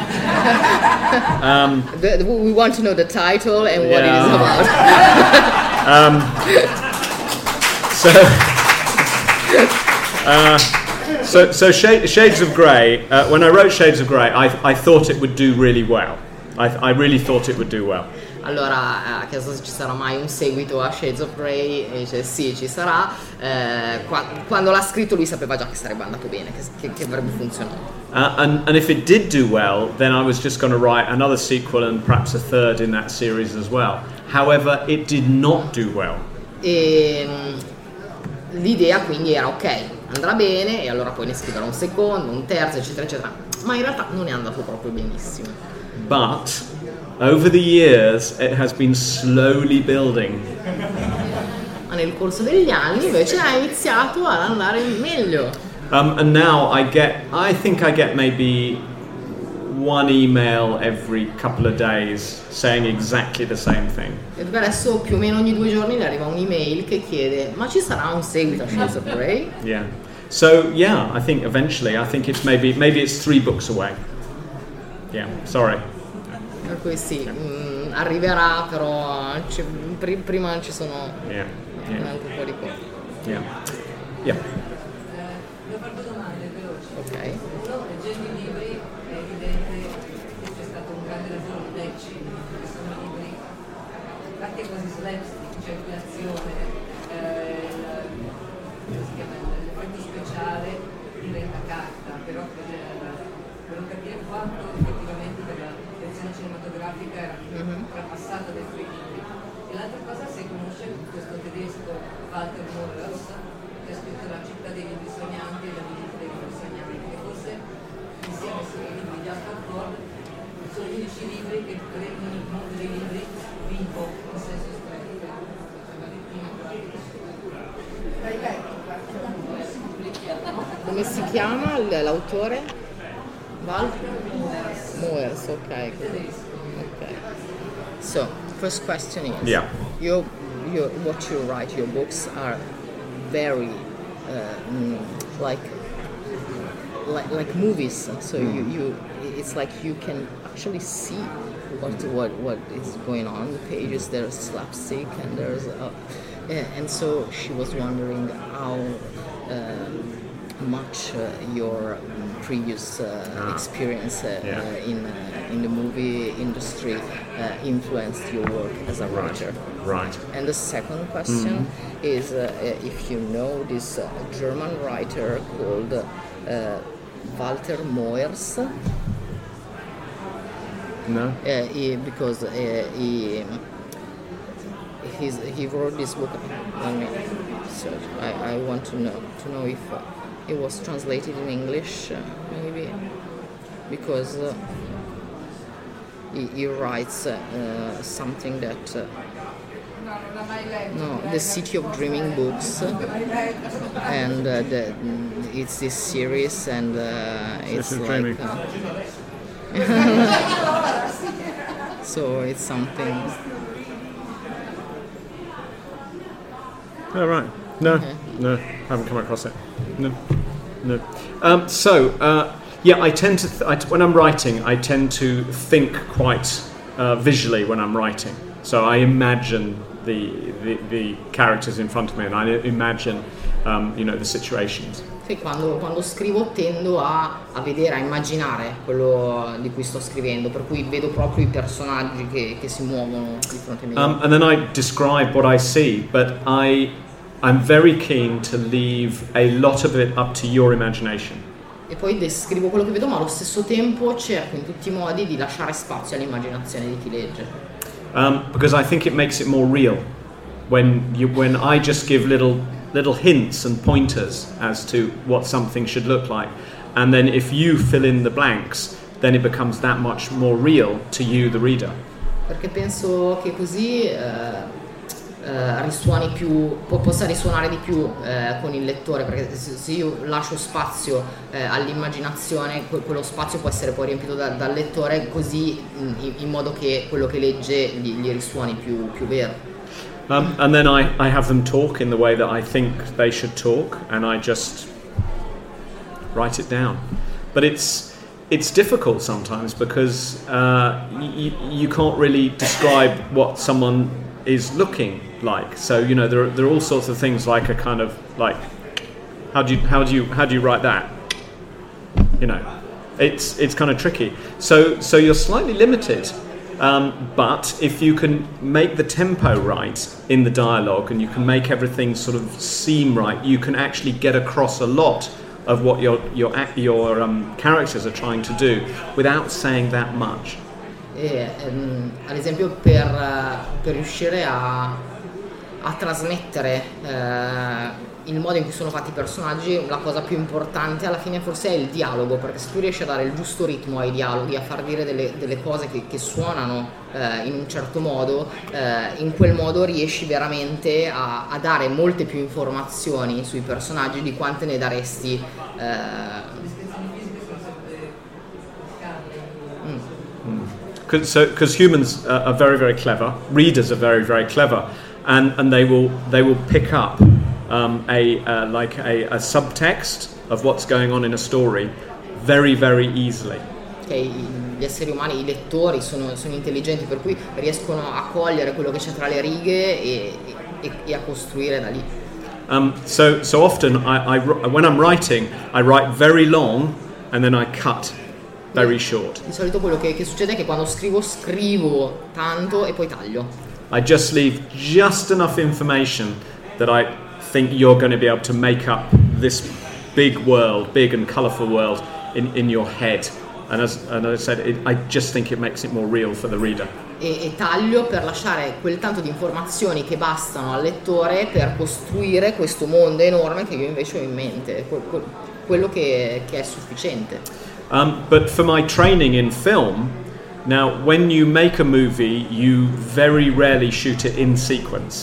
um, The, the, we want to know the title and what Yeah. it is about. um, so, uh, so, so Shade, Shades of Grey. Uh, when I wrote Shades of Grey, I, I thought it would do really well. I, I really thought it would do well. Allora, ha chiesto se ci sarà mai un seguito a Shades of Grey e dice sì, ci sarà. Eh, qua- quando l'ha scritto lui sapeva già che sarebbe andato bene, che, che, che avrebbe funzionato. Uh, and, and if it did do well, then I was just going to write another sequel and perhaps a third in that series as well. However, it did not do well. E mh, l'idea quindi era ok, andrà bene e allora poi ne scriverò un secondo, un terzo, eccetera, eccetera. Ma in realtà non è andato proprio benissimo. But over the years, it has been slowly building. Ma nel corso degli anni invece ha iniziato ad andare meglio. Um, and now I get, I think I get maybe one email every couple of days saying exactly the same thing. E per adesso più o meno ogni due giorni le arriva un'email che chiede ma ci sarà un seguito a Shades of Grey? Yeah. So yeah, I think eventually, I think it's maybe maybe it's three books away. Yeah. Sorry. Per cui sì, mh, arriverà, però ci- pri- prima ci sono Yeah. un Yeah. altro po' di cose. Yeah. Yeah. Devo fare due domande veloci. Ok. Uno, leggendo i libri è evidente che c'è stato un grande lavoro di matching, che sono libri fatti quasi slapstick, cioè qui l'azione, eh, il, come si chiama, l'effetto speciale diventa carta, però per, per capire quanto effettivamente per la versione cinematografica era trapassata dai suoi libri. E l'altra cosa, se conosce questo tedesco Walter Mörs, che ha scritto La città dei libri sognanti e La visita dei libri sognanti, che forse insieme ai libri di Alfred Ford sono gli unici libri che rendono il mondo dei libri vivo in senso stretto. Come si chiama l- l'autore? Val? Moers, ok. Ok. So, first question is, Yeah. your, your, what you write, your books are very uh, mm, like, like like movies. So you, you, it's like you can actually see what what what is going on the pages. There's slapstick and there's, uh, yeah, and so she was wondering how um, much uh, your um, previous uh, Ah. experience uh, Yeah. uh, in uh, in the movie industry uh, influenced your work as a writer. Right. And the second question is uh, if you know this uh, German writer called uh, Walter Moers, uh, No. he, because uh, he he's, he wrote this book. Let me search. I, I want to know to know if uh, it was translated in English, uh, maybe, because uh, he, he writes uh, uh, something that. Uh, No, the City of Dreaming books, and uh, the, it's this series, and uh, it's of like Dreaming. uh, so it's something. Oh, right. No, no, haven't come across it. No, no. Um, so, uh, yeah, I tend to, th- I t- when I'm writing, I tend to think quite uh, visually when I'm writing. So I imagine the, the, the characters in front of me and I imagine um, you know, the situations. Sì, quando, quando scrivo tendo a, a vedere, a immaginare quello di cui sto scrivendo, per cui vedo proprio i personaggi che, che si muovono di fronte a me. Um, and then I describe what I see, but I, I'm very keen to leave a lot of it up to your imagination. E poi descrivo quello che vedo, ma allo stesso tempo cerco in tutti i modi di lasciare spazio all'immaginazione di chi legge. Um, because I think it makes it more real when you, when I just give little little hints and pointers as to what something should look like, and then if you fill in the blanks, then it becomes that much more real to you, the reader. Perché penso che così eh, eh, risuoni più, po- possa risuonare di più eh, con il lettore, perché se, se io lascio spazio eh, all'immaginazione, que- quello spazio può essere poi riempito da- dal lettore, così in, in modo che quello che legge gli, gli risuoni più, più vero. Um, and then I, I have them talk in the way that I think they should talk, and I just write it down. But it's it's difficult sometimes because uh, y- you can't really describe what someone is looking like. So you know there are, there are all sorts of things like a kind of like how do you how do you how do you write that? You know, it's it's kind of tricky. So so you're slightly limited. Um, but if you can make the tempo right in the dialogue and you can make everything sort of seem right, you can actually get across a lot of what your your your um, characters are trying to do without saying that much. E, ehm, ad esempio per, per riuscire a, a trasmettere eh, il modo in cui sono fatti i personaggi, la cosa più importante alla fine forse è il dialogo, perché se tu riesci a dare il giusto ritmo ai dialoghi, a far dire delle, delle cose che, che suonano eh, in un certo modo, eh, in quel modo riesci veramente a, a dare molte più informazioni sui personaggi di quante ne daresti eh, Because so, because humans uh, are very very clever, readers are very very clever, and, and they will they will pick up um, a uh, like a, a subtext of what's going on in a story very very easily. Che gli esseri umani, i lettori sono, sono intelligenti, per cui riescono a cogliere quello che c'è tra le righe e, e, e a costruire da lì. Um, so so often I, I when I'm writing I write very long and then I cut very short. Di solito quello che, che succede è che quando scrivo scrivo tanto e poi taglio. I just leave just enough information that I think you're going to be able to make up this big world, big and colourful world in, in your head. And as, and as I said, it, I just think it makes it more real for the reader. E, e taglio per lasciare quel tanto di informazioni che bastano al lettore per costruire questo mondo enorme che io invece ho in mente, quello che, che è sufficiente. Um, but for my training in film, now when you make a movie, you very rarely shoot it in sequence.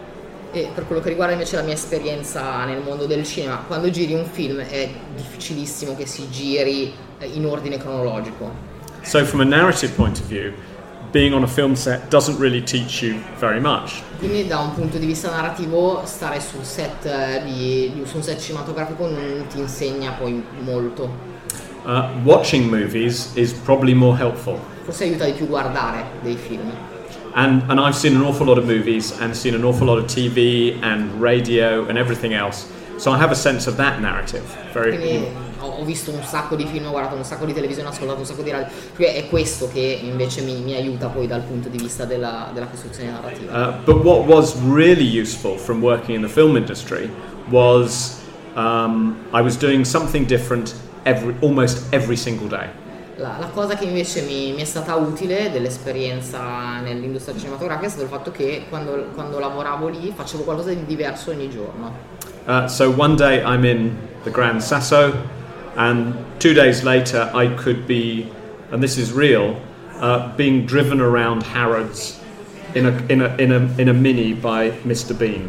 E per quello che riguarda invece la mia esperienza nel mondo del cinema, quando giri un film è difficilissimo che si giri in ordine cronologico. So from a narrative point of view, being on a film set doesn't really teach you very much. Quindi da un punto di vista narrativo stare sul set di, di su un set cinematografico non ti insegna poi molto. Uh, watching movies is probably more helpful. Forse aiuta di più guardare dei film. And and I've seen an awful lot of movies and seen an awful lot of T V and radio and everything else. So I have a sense of that narrative. Very. Quindi ho visto un sacco di film, ho guardato un sacco di televisione, ho ascoltato un sacco di radio. Quindi è questo che invece mi, mi aiuta poi dal punto di vista della, della costruzione narrativa. Uh, but what was really useful from working in the film industry was um, I was doing something different every, almost every single day. La, la cosa che invece mi, mi è stata utile dell'esperienza nell'industria cinematografica è stato il fatto che quando, quando lavoravo lì facevo qualcosa di diverso ogni giorno. Uh, so one day I'm in the Gran Sasso, and two days later I could be, and this is real, uh, being driven around Harrods in a, in a, in a, in a Mini by mister Bean.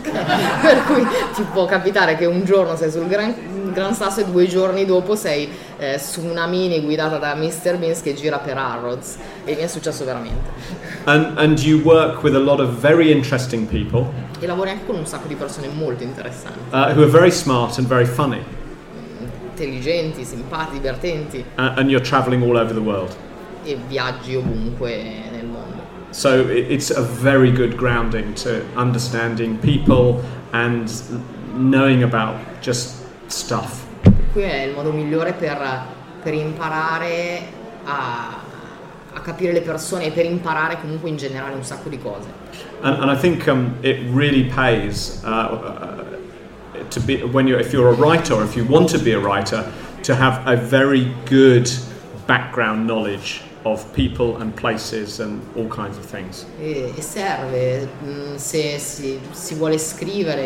Per cui ti può capitare che un giorno sei sul Gran, Gran Sasso e due giorni dopo sei eh, su una Mini guidata da mister Bean che gira per Harrods, e mi è successo veramente. And, and you work with a lot of very interesting people. E lavori anche con un sacco di persone molto interessanti. Uh, who are very smart and very funny. Intelligenti, simpatici, divertenti. Uh, and you're traveling all over the world. e viaggi ovunque nel mondo. So it's a very good grounding to understanding people and knowing about just stuff. Qui è il modo migliore per, per imparare a, a capire le persone e per imparare comunque in generale un sacco di cose. And, and I think um, it really pays uh, uh, to be when you if you're a writer or if you want to be a writer to have a very good background knowledge of people and places and all kinds of things. E, e serve mh, se si, si vuole scrivere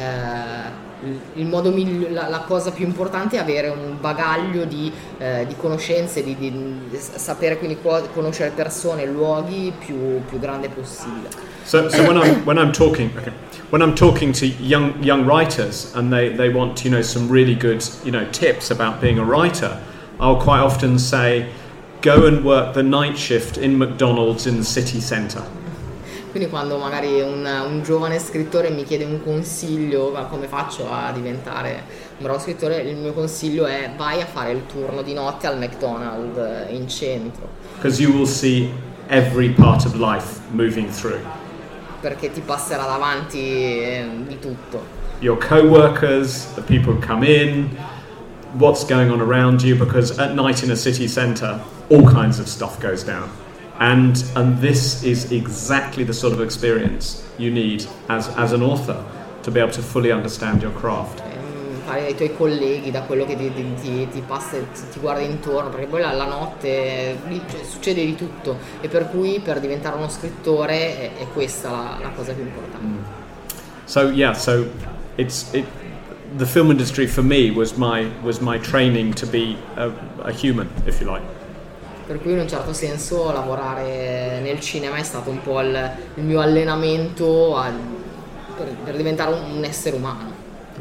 eh, il modo miglio, la, la cosa più importante è avere un bagaglio di, eh, di conoscenze, di, di, di sapere quindi co- conoscere persone, luoghi più, più grande possibile. So, so when I'm when I'm talking, okay, when I'm talking to young young writers and they, they want you know some really good you know tips about being a writer, I'll quite often say, go and work the night shift in McDonald's in the city centre. Quindi quando magari un, un giovane scrittore mi chiede un consiglio, ma come faccio a diventare un bravo scrittore, il mio consiglio è vai a fare il turno di notte al McDonald's in centro. Because you will see every part of life moving through. Perché ti passerà davanti eh, di tutto. Your co-workers, the people who come in, what's going on around you, because at night in a city centre, all kinds of stuff goes down. And and this is exactly the sort of experience you need as, as an author to be able to fully understand your craft. Fare dai tuoi colleghi, da quello che ti, ti, ti passa, ti, ti guarda intorno, perché poi la, la notte lì, cioè, succede di tutto e per cui per diventare uno scrittore è, è questa la, la cosa più importante. Mm. So yeah, so it's it. The film industry for me was my was my training to be a, a human, if you like. Per cui in un certo senso lavorare nel cinema è stato un po' il, il mio allenamento a, per, per diventare un, un essere umano.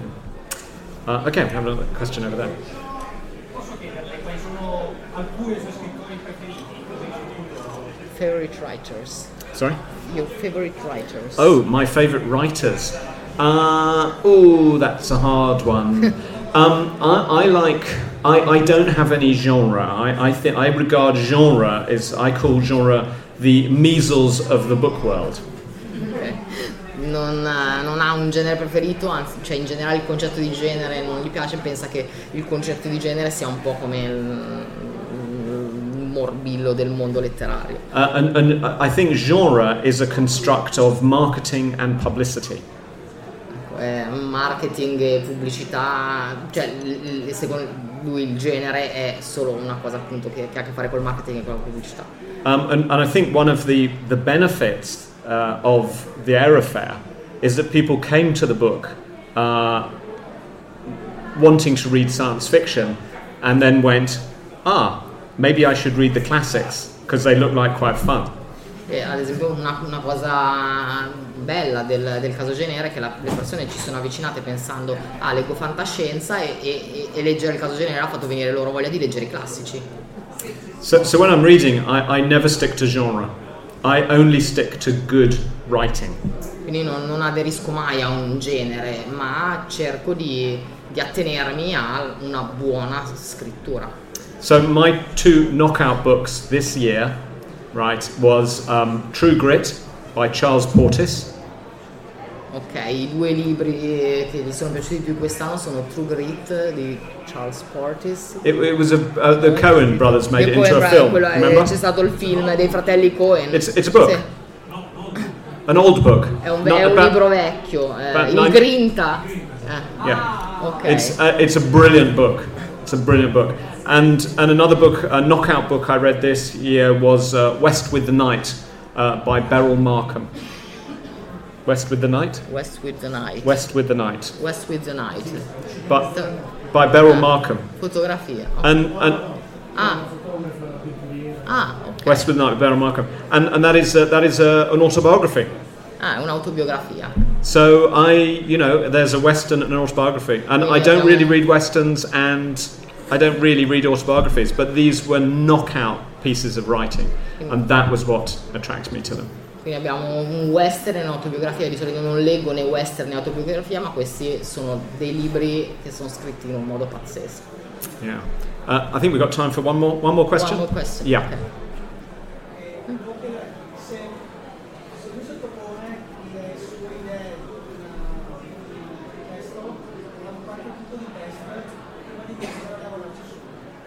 Uh, okay, we have another question over there. Posso chiederle quali sono alcuni suoi scrittori preferiti? Favorite writers. Sorry? Your favorite writers. Oh, my favourite writers. Uh, oh, that's a hard one. um, I, I like. I, I don't have any genre. I I think I regard genre as I call genre the measles of the book world. Okay. Non, non ha un genere preferito, anzi, cioè in generale il concetto di genere non gli piace, pensa che il concetto di genere sia un po' come il, il morbillo del mondo letterario. Uh, and, and I think genre is a construct of marketing and publicity. Eh, marketing e pubblicità, cioè secondo lui il genere è solo una cosa appunto che, che ha a che fare col marketing e con la pubblicità. Um, and, and I think one of the, the benefits uh, of the Air Fair is that people came to the book uh, wanting to read science fiction and then went, ah, maybe I should read the classics because they look like quite fun. E ad esempio una, una cosa bella del, del caso Genere è che la, le persone ci sono avvicinate pensando ah leggo fantascienza e, e, e leggere il caso Genere ha fatto venire loro voglia di leggere i classici. So, so when I'm reading, I, I never stick to genre. I only stick to good writing. Quindi non, non aderisco mai a un genere, ma cerco di, di attenermi a una buona scrittura. So my two knockout books this year, right, was um, True Grit by Charles Portis. Ok, i due libri che gli sono piaciuti più quest'anno sono True Grit di Charles Portis. It, it was a, uh, the Coen brothers made it Coen, into a film, quello, remember? C'è stato il film dei fratelli Coen. It's, it's a book. Sì. An old book. È un, Not è un about- libro vecchio, eh, about il nine- Grinta. Eh, Yeah. ok. It's uh, it's a brilliant book. It's a brilliant book. And and another book, a knockout book I read this year was uh, West with the Night uh, by Beryl Markham. West with the Night? West with the Night. West with the Night. West with the Night. But Sto- by Beryl ah, Markham. Fotografia. ok. And and Ah. Ah, ok. West with the Night by Beryl Markham. And and that is uh, that is uh, an autobiography. Ah, è un'autobiografia. So I, you know, there's a western and an autobiography, and I don't really read westerns and I don't really read autobiographies, but these were knockout pieces of writing, and that was what attracted me to them. Quindi abbiamo un western e un'autobiografia. Di solito non leggo né western né autobiografia, ma questi sono dei libri che sono scritti in un modo pazzesco. Yeah. Uh, I think we've got time for one more one more question. One more question. Yeah. Okay. Dico che se, se lui sottopone le sue idee in uh, testo, fanno qualche tipo di test prima di iniziare a lavorarci su.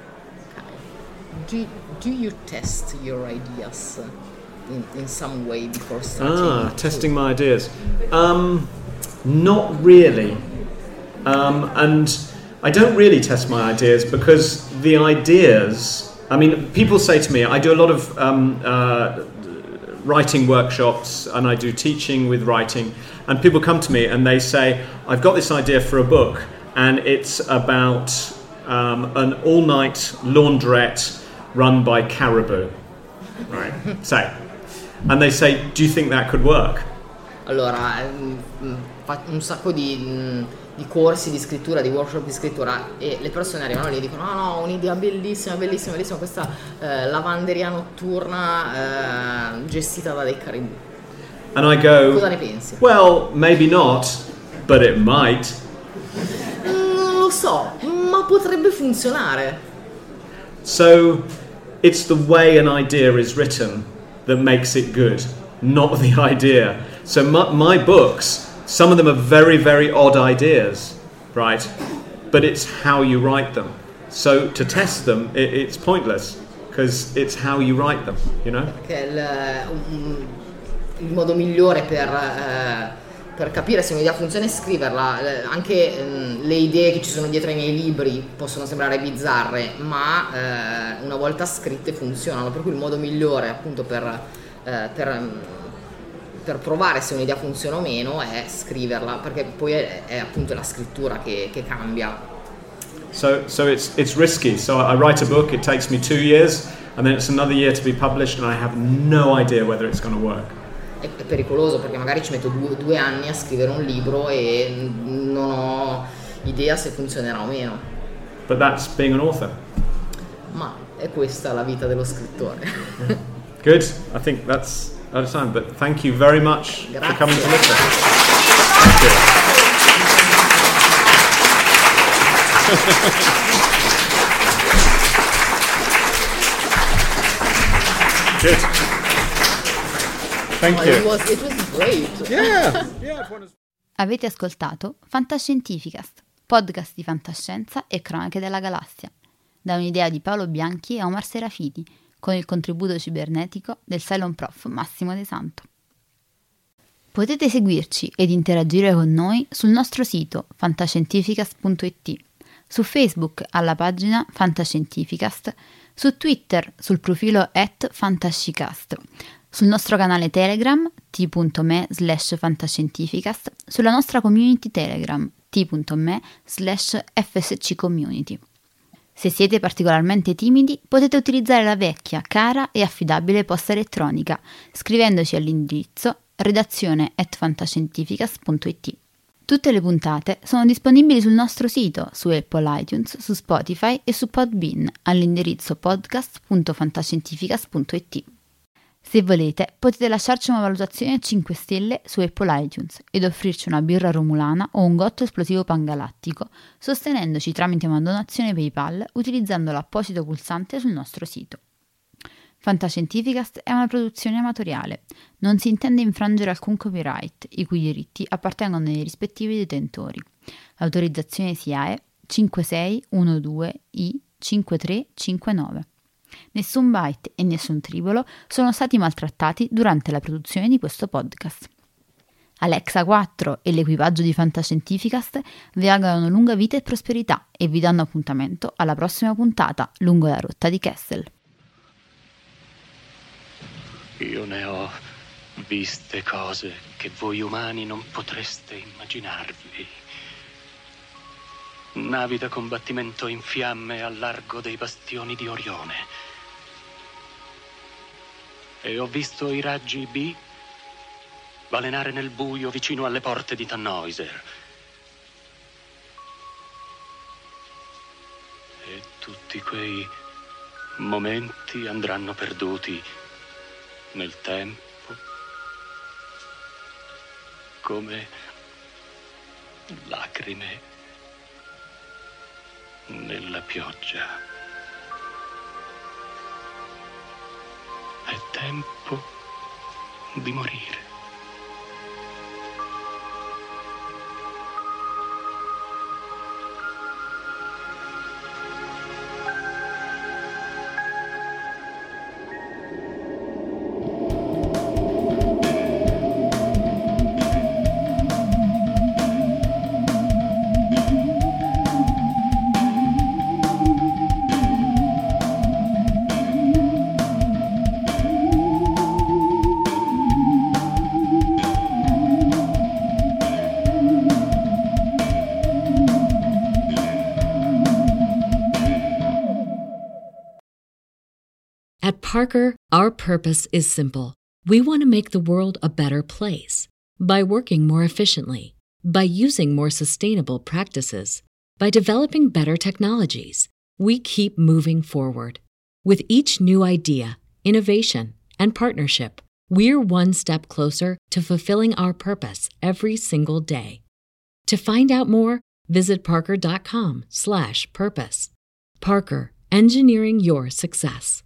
Do, do you test your ideas in, in some way before starting? Ah, testing my ideas. Um, not really. Um, and I don't really test my ideas because the ideas, I mean, people say to me, I do a lot of um, uh, writing workshops and I do teaching with writing, and people come to me and they say, I've got this idea for a book and it's about um, an all-night laundrette run by Caribou, right? Say, and they say, do you think that could work? Allora, mm, fa un sacco di, mm, di corsi di scrittura, di workshop di scrittura, e le persone arrivano lì e dicono: no, no, un'idea bellissima, bellissima, bellissima, questa eh, lavanderia notturna eh, gestita da dei caribù. And I go, cosa ne pensi? Well, maybe not, but it might. Non lo so, ma potrebbe funzionare. So, it's the way an idea is written that makes it good, not the idea. So my, my books, some of them are very, very odd ideas, right? But it's how you write them. So to test them, it, it's pointless because it's how you write them, you know? Perché il, um, il modo migliore per, eh, per capire se un'idea funziona è scriverla. Eh, anche um, le idee che ci sono dietro ai miei libri possono sembrare bizzarre, ma eh, una volta scritte funzionano. Per cui il modo migliore appunto per... eh, per per provare se un'idea funziona o meno è scriverla, perché poi è, è appunto la scrittura che, che cambia. So, so it's it's risky. So I write a book, it takes me two years, and then it's another year to be published, and I have no idea whether it's going to work. È, è pericoloso perché magari ci metto due, due anni a scrivere un libro e non ho idea se funzionerà o meno. But that's being an author. Ma è questa la vita dello scrittore. Good. I think that's out of time, but thank you very much Grazie. for coming to listen. Thank you. Good. Thank Oh, you. It was, it was great. Yeah. Yeah. Avete ascoltato Fantascientificast, podcast di fantascienza e cronache della galassia, da un'idea di Paolo Bianchi e Omar Serafiti, con il contributo cibernetico del Cylon Prof Massimo De Santo. Potete seguirci ed interagire con noi sul nostro sito fantascientificast punto it, su Facebook alla pagina Fantascientificast, su Twitter sul profilo at fantascicast, sul nostro canale Telegram t.me slash fantascientificast, sulla nostra community Telegram t.me slash fsccommunity. Se siete particolarmente timidi, potete utilizzare la vecchia, cara e affidabile posta elettronica, scrivendoci all'indirizzo redazione at fantascientificast punto it. Tutte le puntate sono disponibili sul nostro sito, su Apple iTunes, su Spotify e su Podbean, all'indirizzo podcast punto fantascientificast punto it. Se volete, potete lasciarci una valutazione a cinque stelle su Apple iTunes ed offrirci una birra romulana o un gotto esplosivo pangalattico, sostenendoci tramite una donazione PayPal utilizzando l'apposito pulsante sul nostro sito. Fantascientificast è una produzione amatoriale. Non si intende infrangere alcun copyright, i cui diritti appartengono ai rispettivi detentori. L'autorizzazione S I A E cinque sei uno due I cinque tre cinque nove. Nessun byte e nessun tribolo sono stati maltrattati durante la produzione di questo podcast. Alexa quattro e l'equipaggio di Fantascientificast vi augurano lunga vita e prosperità e vi danno appuntamento alla prossima puntata lungo la rotta di Kessel. Io ne ho viste cose che voi umani non potreste immaginarvi. Navi da combattimento in fiamme al largo dei bastioni di Orione. E ho visto i raggi B balenare nel buio vicino alle porte di Tannhäuser. E tutti quei momenti andranno perduti nel tempo, come lacrime nella pioggia. è tempo di morire. At Parker, our purpose is simple. We want to make the world a better place by working more efficiently, by using more sustainable practices, by developing better technologies. We keep moving forward. With each new idea, innovation, and partnership, we're one step closer to fulfilling our purpose every single day. To find out more, visit parker.com slash purpose. Parker, engineering your success.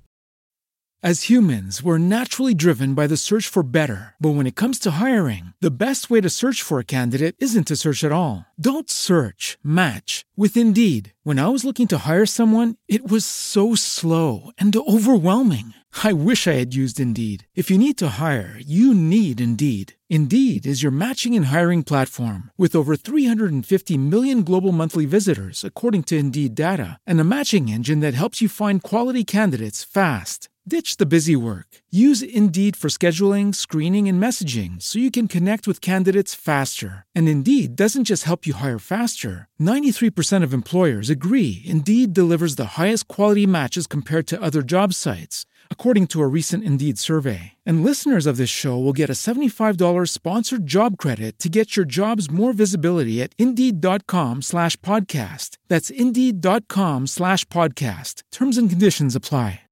As humans, we're naturally driven by the search for better. But when it comes to hiring, the best way to search for a candidate isn't to search at all. Don't search, match with Indeed. When I was looking to hire someone, it was so slow and overwhelming. I wish I had used Indeed. If you need to hire, you need Indeed. Indeed is your matching and hiring platform with over three hundred fifty million global monthly visitors, according to Indeed data, and a matching engine that helps you find quality candidates fast. Ditch the busy work. Use Indeed for scheduling, screening, and messaging so you can connect with candidates faster. And Indeed doesn't just help you hire faster. ninety-three percent of employers agree Indeed delivers the highest quality matches compared to other job sites, according to a recent Indeed survey. And listeners of this show will get a seventy-five dollars sponsored job credit to get your jobs more visibility at Indeed.com slash podcast. That's Indeed.com slash podcast. Terms and conditions apply.